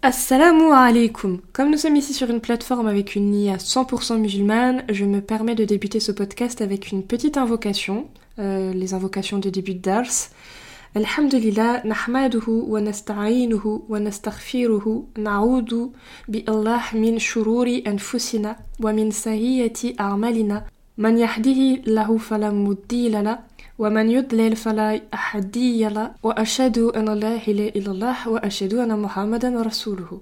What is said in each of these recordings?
Assalamu alaikum. Comme nous sommes ici sur une plateforme avec une niya 100% musulmane, je me permets de débuter ce podcast avec une petite invocation, les invocations de début de dars. Alhamdulillah, nahmaduhu wa nasta'inuhu wa nastaghfiruhu, na'udu bi Allah min shururi anfusina wa min sayyiati a'malina, man yahdihi lahu fala mudilla lahu. ومن يضلل فلا هادي له وأشهد أن لا إله إلا الله وأشهد أن محمدا رسوله.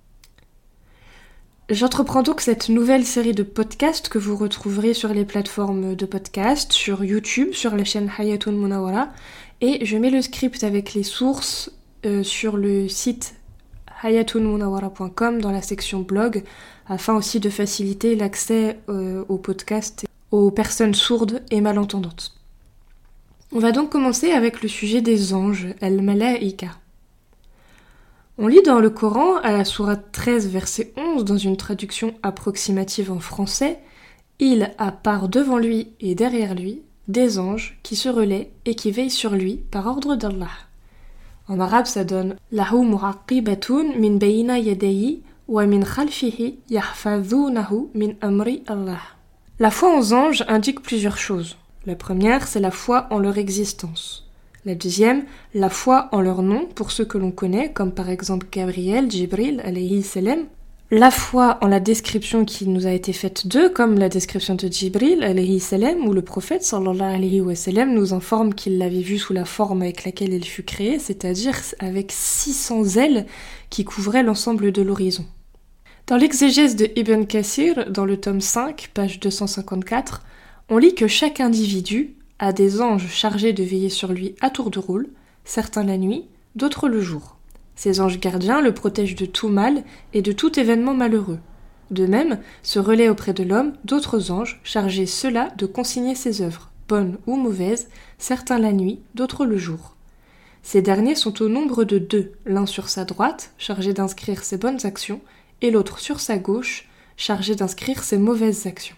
J'entreprends donc cette nouvelle série de podcasts que vous retrouverez sur les plateformes de podcasts, sur YouTube, sur la chaîne Hayatun Munawwara, et je mets le script avec les sources sur le site hayatunmunawwara.com dans la section blog, afin aussi de faciliter l'accès aux podcasts aux personnes sourdes et malentendantes. On va donc commencer avec le sujet des anges, al-malaïka. On lit dans le Coran, à la sourate 13, verset 11, dans une traduction approximative en français, « Il a par devant lui et derrière lui des anges qui se relaient et qui veillent sur lui par ordre d'Allah. » En arabe, ça donne « Lahu mu'aqibatun min bayna yadayhi wa min khalfihi yahfazunahu min amri Allah. » La foi aux anges indique plusieurs choses. La première, c'est la foi en leur existence. La deuxième, la foi en leur nom, pour ceux que l'on connaît, comme par exemple Gabriel, Jibril, alayhi salam. La foi en la description qui nous a été faite d'eux, comme la description de Jibril, alayhi salam, où le prophète, sallallahu alayhi wa sallam, nous informe qu'il l'avait vu sous la forme avec laquelle il fut créé, c'est-à-dire avec 600 ailes qui couvraient l'ensemble de l'horizon. Dans l'exégèse de Ibn Kathir, dans le tome 5, page 254, on lit que chaque individu a des anges chargés de veiller sur lui à tour de rôle, certains la nuit, d'autres le jour. Ces anges gardiens le protègent de tout mal et de tout événement malheureux. De même, se relaient auprès de l'homme d'autres anges chargés ceux-là de consigner ses œuvres, bonnes ou mauvaises, certains la nuit, d'autres le jour. Ces derniers sont au nombre de 2, l'un sur sa droite, chargé d'inscrire ses bonnes actions, et l'autre sur sa gauche, chargé d'inscrire ses mauvaises actions.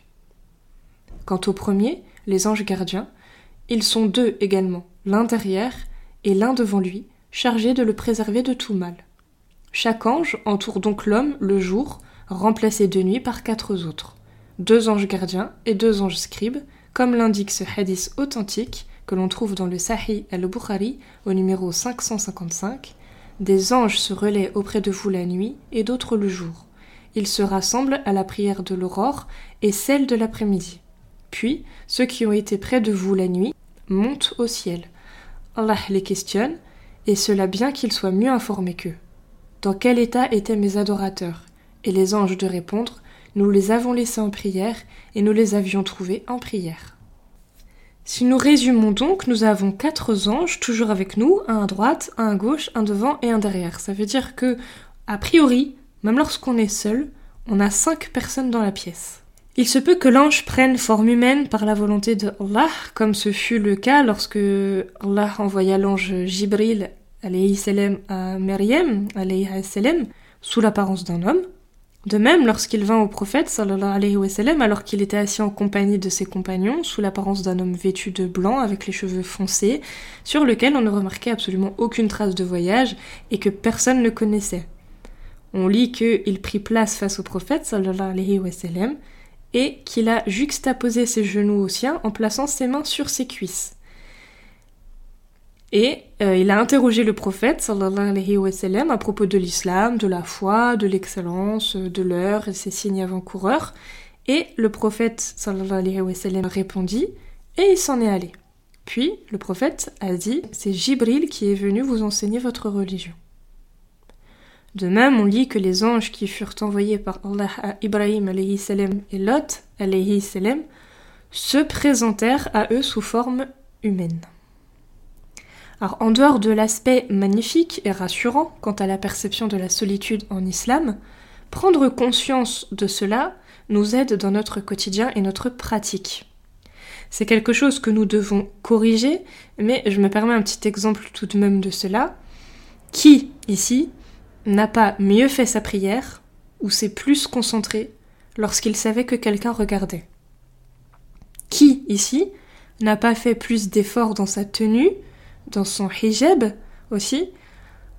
Quant au premier, les anges gardiens, ils sont 2 également, l'un derrière et l'un devant lui, chargés de le préserver de tout mal. Chaque ange entoure donc l'homme le jour, remplacé de nuit par 4 autres. 2 anges gardiens et 2 anges scribes, comme l'indique ce hadith authentique que l'on trouve dans le Sahih al-Bukhari au numéro 555. Des anges se relaient auprès de vous la nuit et d'autres le jour. Ils se rassemblent à la prière de l'aurore et celle de l'après-midi. Puis, ceux qui ont été près de vous la nuit montent au ciel. Allah les questionne, et cela bien qu'ils soient mieux informés qu'eux. Dans quel état étaient mes adorateurs ? Et les anges de répondre, nous les avons laissés en prière, et nous les avions trouvés en prière. Si nous résumons donc, nous avons 4 anges toujours avec nous, un à droite, un à gauche, un devant et un derrière. Ça veut dire que, a priori, même lorsqu'on est seul, on a 5 personnes dans la pièce. Il se peut que l'ange prenne forme humaine par la volonté de Allah, comme ce fut le cas lorsque Allah envoya l'ange Jibril alayhi salam à Maryam alayhi salam sous l'apparence d'un homme. De même, lorsqu'il vint au prophète sallallahu alayhi wa sallam, alors qu'il était assis en compagnie de ses compagnons, sous l'apparence d'un homme vêtu de blanc avec les cheveux foncés, sur lequel on ne remarquait absolument aucune trace de voyage et que personne ne connaissait. On lit qu'il prit place face au prophète sallallahu alayhi wa sallam, et qu'il a juxtaposé ses genoux aux siens en plaçant ses mains sur ses cuisses. Et il a interrogé le prophète, sallallahu alayhi wa sallam, à propos de l'islam, de la foi, de l'excellence, de l'heure et ses signes avant-coureurs. Et le prophète, sallallahu alayhi wa sallam, répondit, et il s'en est allé. Puis, le prophète a dit, c'est Jibril qui est venu vous enseigner votre religion. De même, on lit que les anges qui furent envoyés par Allah à Ibrahim alayhi salam et Lot alayhi salam se présentèrent à eux sous forme humaine. Alors, en dehors de l'aspect magnifique et rassurant quant à la perception de la solitude en islam, prendre conscience de cela nous aide dans notre quotidien et notre pratique. C'est quelque chose que nous devons corriger, mais je me permets un petit exemple tout de même de cela. Qui, ici, n'a pas mieux fait sa prière ou s'est plus concentré lorsqu'il savait que quelqu'un regardait ? Qui, ici, n'a pas fait plus d'efforts dans sa tenue, dans son hijab aussi,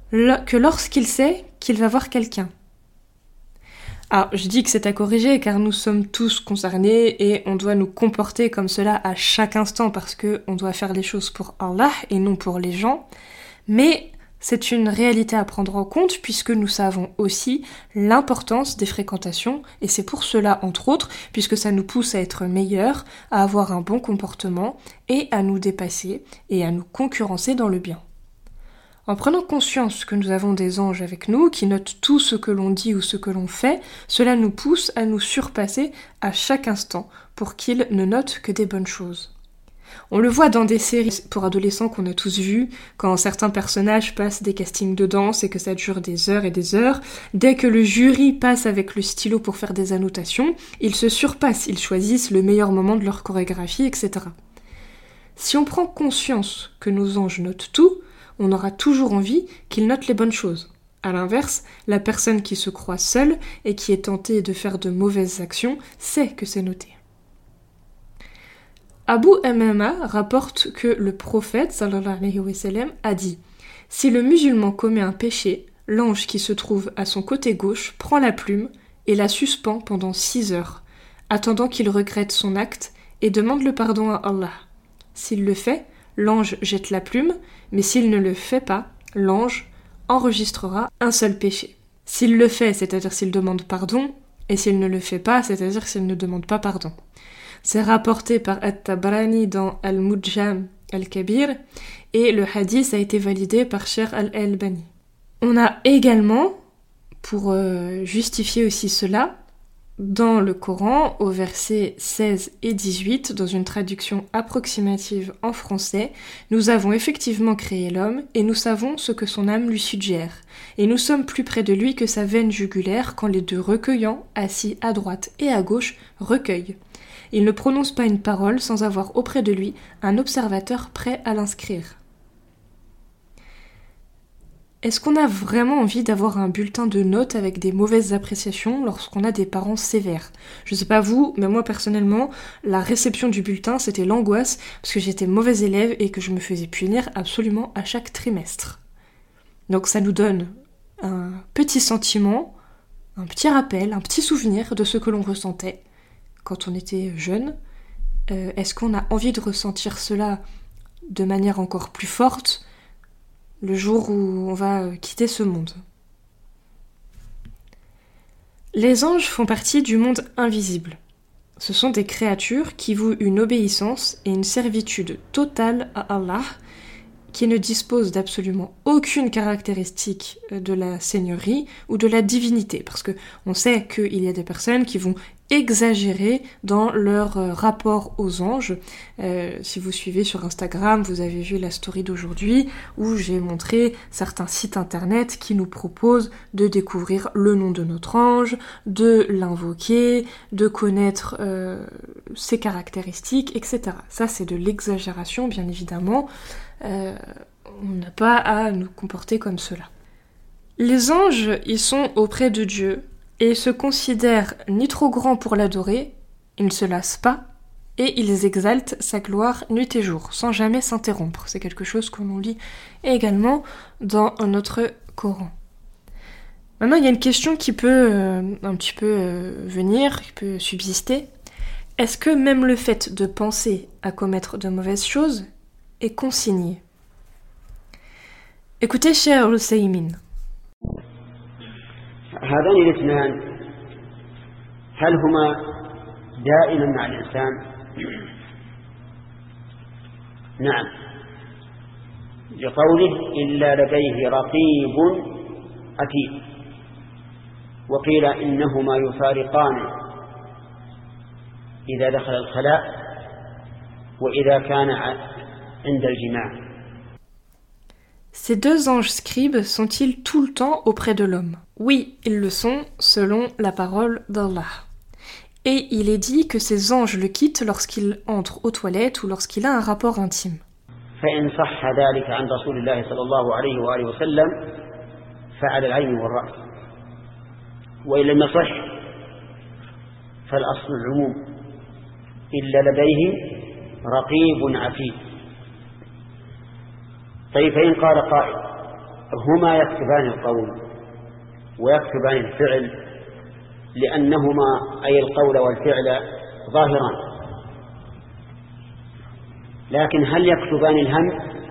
que lorsqu'il sait qu'il va voir quelqu'un. Alors, je dis que c'est à corriger car nous sommes tous concernés et on doit nous comporter comme cela à chaque instant parce que on doit faire les choses pour Allah et non pour les gens. Mais c'est une réalité à prendre en compte puisque nous savons aussi l'importance des fréquentations et c'est pour cela, entre autres, puisque ça nous pousse à être meilleurs, à avoir un bon comportement et à nous dépasser et à nous concurrencer dans le bien. En prenant conscience que nous avons des anges avec nous, qui notent tout ce que l'on dit ou ce que l'on fait, cela nous pousse à nous surpasser à chaque instant pour qu'ils ne notent que des bonnes choses. On le voit dans des séries pour adolescents qu'on a tous vues, quand certains personnages passent des castings de danse et que ça dure des heures et des heures, dès que le jury passe avec le stylo pour faire des annotations, ils se surpassent, ils choisissent le meilleur moment de leur chorégraphie, etc. Si on prend conscience que nos anges notent tout, on aura toujours envie qu'ils notent les bonnes choses. À l'inverse, la personne qui se croit seule et qui est tentée de faire de mauvaises actions sait que c'est noté. Abu Umama rapporte que le prophète sallallahu alayhi wa sallam a dit « Si le musulman commet un péché, l'ange qui se trouve à son côté gauche prend la plume et la suspend pendant 6 heures, attendant qu'il regrette son acte et demande le pardon à Allah. S'il le fait, l'ange jette la plume, mais s'il ne le fait pas, l'ange enregistrera un seul péché. S'il le fait, c'est-à-dire s'il demande pardon, et s'il ne le fait pas, c'est-à-dire s'il ne demande pas pardon. C'est rapporté par At-Tabarani dans Al-Mujam Al-Kabir, et le hadith a été validé par Cheikh Al-Albani. On a également, pour justifier aussi cela, dans le Coran, au verset 16 et 18, dans une traduction approximative en français, nous avons effectivement créé l'homme et nous savons ce que son âme lui suggère. Et nous sommes plus près de lui que sa veine jugulaire quand les deux recueillants, assis à droite et à gauche, recueillent. Il ne prononce pas une parole sans avoir auprès de lui un observateur prêt à l'inscrire. Est-ce qu'on a vraiment envie d'avoir un bulletin de notes avec des mauvaises appréciations lorsqu'on a des parents sévères ? Je sais pas vous, mais moi personnellement, la réception du bulletin, c'était l'angoisse parce que j'étais mauvaise élève et que je me faisais punir absolument à chaque trimestre. Donc ça nous donne un petit sentiment, un petit rappel, un petit souvenir de ce que l'on ressentait quand on était jeune. Est-ce qu'on a envie de ressentir cela de manière encore plus forte le jour où on va quitter ce monde? Les anges font partie du monde invisible. Ce sont des créatures qui vouent une obéissance et une servitude totale à Allah, qui ne disposent d'absolument aucune caractéristique de la seigneurie ou de la divinité, parce que on sait qu'il y a des personnes qui vont exagérer dans leur rapport aux anges. Si vous suivez sur Instagram, vous avez vu la story d'aujourd'hui où j'ai montré certains sites internet qui nous proposent de découvrir le nom de notre ange, de l'invoquer, de connaître ses caractéristiques, etc. Ça, c'est de l'exagération, bien évidemment. On n'a pas à nous comporter comme cela. Les anges, ils sont auprès de Dieu et se considèrent ni trop grands pour l'adorer, ils ne se lassent pas, et ils exaltent sa gloire nuit et jour, sans jamais s'interrompre. C'est quelque chose que l'on lit également dans notre Coran. Maintenant, il y a une question qui peut un petit peu venir, qui peut subsister. Est-ce que même le fait de penser à commettre de mauvaises choses est consigné? Écoutez Cheikh Al-Uthaymin. هذان الاثنان هل هما دائما مع الإنسان؟ نعم، لقوله إلا لديه رقيب عتيد، وقيل إنهما يفارقان إذا دخل الخلاء وإذا كان عند الجماع. Ces deux anges scribes sont-ils tout le temps auprès de l'homme? Oui, ils le sont, selon la parole d'Allah. Et il est dit que ces anges le quittent lorsqu'il entre aux toilettes ou lorsqu'il a un rapport intime. فإن صح ذلك عن رسول الله صلى الله عليه وآله وسلم فعلى العين والرأس، وإن لم يصح فالأصل العموم إلا لديه رقيب عتيد. طيب، فإن قال قائل هما يكتبان القول ويكتبان الفعل، لأنهما أي القول والفعل ظاهران، لكن هل يكتبان الهم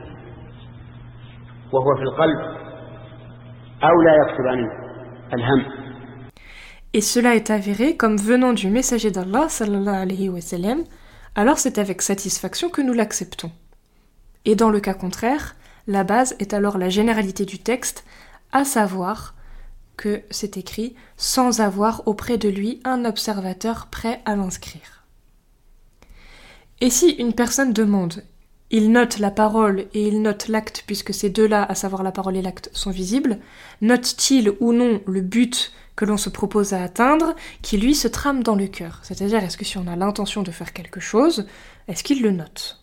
وهو في القلب أو لا يكتبان الهم؟ Et cela est avéré comme venant du messager d'Allah sallallahu alayhi wa sallam, alors c'est avec satisfaction que nous l'acceptons. Et dans le cas contraire, la base est alors la généralité du texte, à savoir que c'est écrit sans avoir auprès de lui un observateur prêt à l'inscrire. Et si une personne demande, il note la parole et il note l'acte puisque ces deux-là, à savoir la parole et l'acte, sont visibles, note-t-il ou non le but que l'on se propose à atteindre, qui lui se trame dans le cœur? C'est-à-dire, est-ce que si on a l'intention de faire quelque chose, est-ce qu'il le note?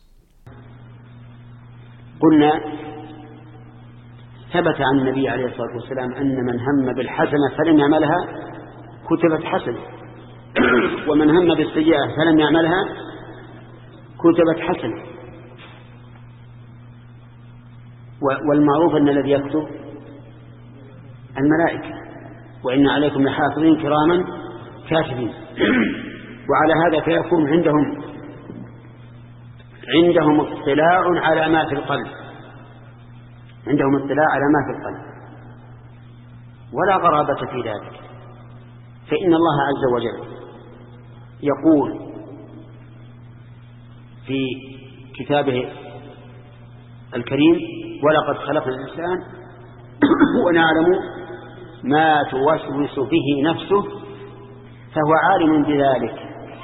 قلنا ثبت عن النبي عليه الصلاة والسلام أن من هم بالحسنة فلم يعملها كتبت حسنة، ومن هم بالسيئة فلم يعملها كتبت حسنة. والمعروف أن الذي يكتب الملائكة، وإن عليكم لحافظين كراما كاتبين. وعلى هذا فيكون عندهم اطلاع على ما في القلب، عندهم اطلاع على ما في القلب، ولا غرابة في ذلك، فإن الله عز وجل يقول في كتابه الكريم: ولقد خلقنا الإنسان ونعلم ما توسوس به نفسه فهو عالم بذلك.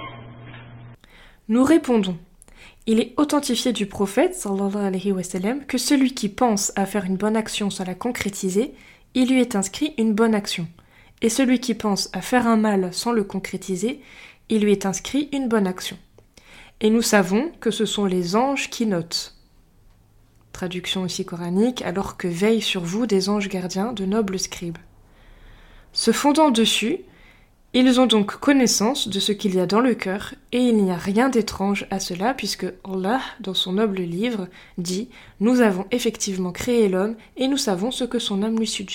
Nous répondons: il est authentifié du prophète sallallahu alayhi wa sallam que celui qui pense à faire une bonne action sans la concrétiser, il lui est inscrit une bonne action, et celui qui pense à faire un mal sans le concrétiser, il lui est inscrit une bonne action. Et nous savons que ce sont les anges qui notent. Traduction aussi coranique: alors que veillent sur vous des anges gardiens, de nobles scribes. Se fondant dessus, ils ont donc connaissance de ce qu'il y a dans le cœur, et il n'y a rien d'étrange à cela, puisque Allah, dans son noble livre, dit « Nous avons effectivement créé l'homme, et nous savons ce que son âme lui suggère. »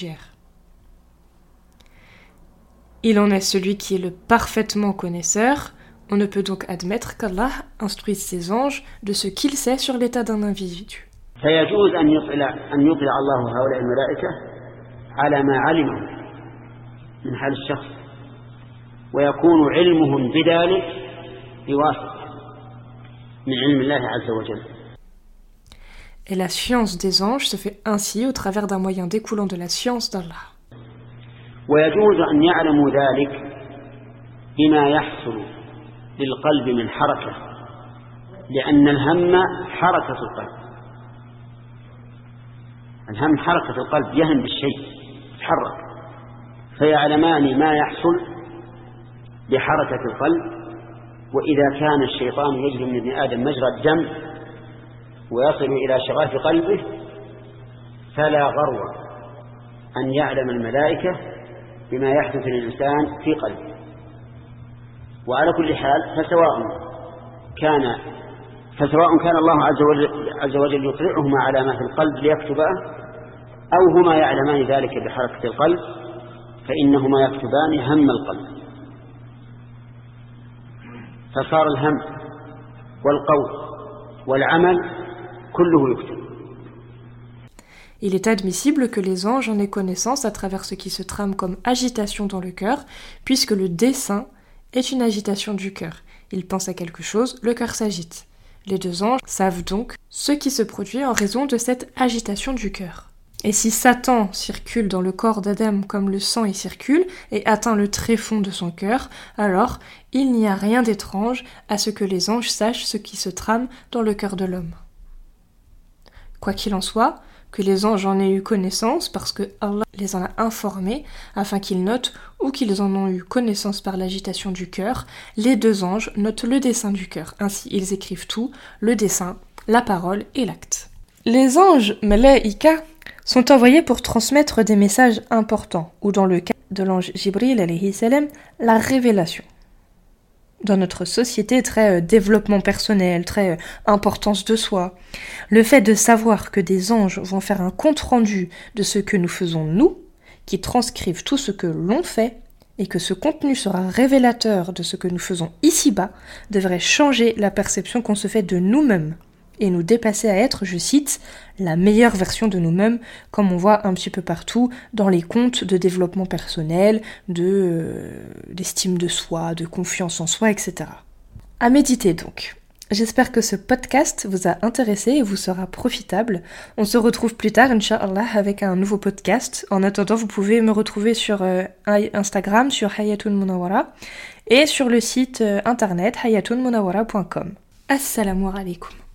Il en est celui qui est le parfaitement connaisseur. On ne peut donc admettre qu'Allah instruise ses anges de ce qu'il sait sur l'état d'un individu. فيجوز أن يطلع الله هؤلاء الملائكة على ما علمه من حال الشخص، ويكون علمهم بذلك بواسطة من علم الله عز وجل. Et la science des anges se fait ainsi au travers d'un moyen découlant de la science d'Allah. ويجوز أن يعلموا ذلك بما يحصل للقلب من حركة، لأن الهم حركة القلب. الهم حركة القلب، يهم بالشيء يتحرك، فيعلمان ما يحصل بحركة القلب. وإذا كان الشيطان يجري من ابن آدم مجرى الدم ويصل إلى شغاف قلبه فلا غرو أن يعلم الملائكة بما يحدث للإنسان في قلبه. وعلى كل حال فسواء كان الله عز وجل يطلعهما على ما في القلب ليكتبه، أو هما يعلمان ذلك بحركة القلب، فإنهما يكتبان هم القلب. فصار الهم والقول والعمل كله يكتب. Il est admissible que les anges en aient connaissance à travers ce qui se trame comme agitation dans le cœur, puisque le dessein est une agitation du cœur. Ils pensent à quelque chose, le cœur s'agite. Les deux anges savent donc ce qui se produit en raison de cette agitation du cœur. Et si Satan circule dans le corps d'Adam comme le sang y circule et atteint le tréfonds de son cœur, alors il n'y a rien d'étrange à ce que les anges sachent ce qui se trame dans le cœur de l'homme. Quoi qu'il en soit, que les anges en aient eu connaissance parce que Allah les en a informés afin qu'ils notent, ou qu'ils en ont eu connaissance par l'agitation du cœur, les deux anges notent le dessein du cœur. Ainsi ils écrivent tout, le dessein, la parole et l'acte. Les anges, malaïka, sont envoyés pour transmettre des messages importants, ou dans le cas de l'ange Jibril alayhi salam, la révélation. dans notre société très développement personnel, très importance de soi. Le fait de savoir que des anges vont faire un compte-rendu de ce que nous faisons nous, qui transcrivent tout ce que l'on fait, et que ce contenu sera révélateur de ce que nous faisons ici-bas, devrait changer la perception qu'on se fait de nous-mêmes et nous dépasser à être, je cite, la meilleure version de nous-mêmes, comme on voit un petit peu partout dans les contes de développement personnel, d'estime de soi, de confiance en soi, etc. À méditer donc. J'espère que ce podcast vous a intéressé et vous sera profitable. On se retrouve plus tard, Inch'Allah, avec un nouveau podcast. En attendant, vous pouvez me retrouver sur Instagram, sur Hayatoun Munawara, et sur le site internet hayatunmunawara.com. Assalamu alaikum.